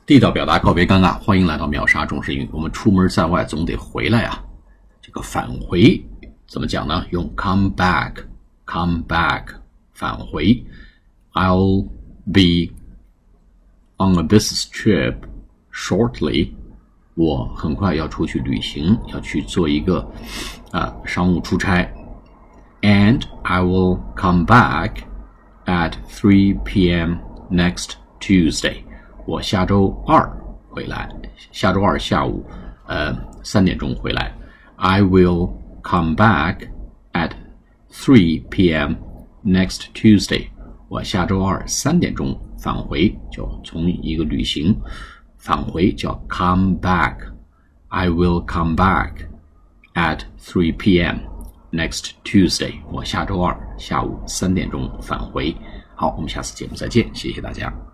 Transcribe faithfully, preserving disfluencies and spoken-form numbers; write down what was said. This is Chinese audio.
地道表达告别尴尬，欢迎来到秒杀中式英语。我们出门在外总得回来啊，这个返回怎么讲呢？用 come back come back 返回。 I'll be on a business trip shortly， 我很快要出去旅行，要去做一个啊商务出差。 And I will come back at three p.m. next Tuesday， 我下周二回来，下周二下午呃三点钟回来。 I will come back at three p.m. next Tuesday， 我下周二三点钟返回，就从一个旅行返回叫 come back。 I will come back at three p.m. next Tuesday， 我下周二下午三点钟返回。好，我们下次节目再见，谢谢大家。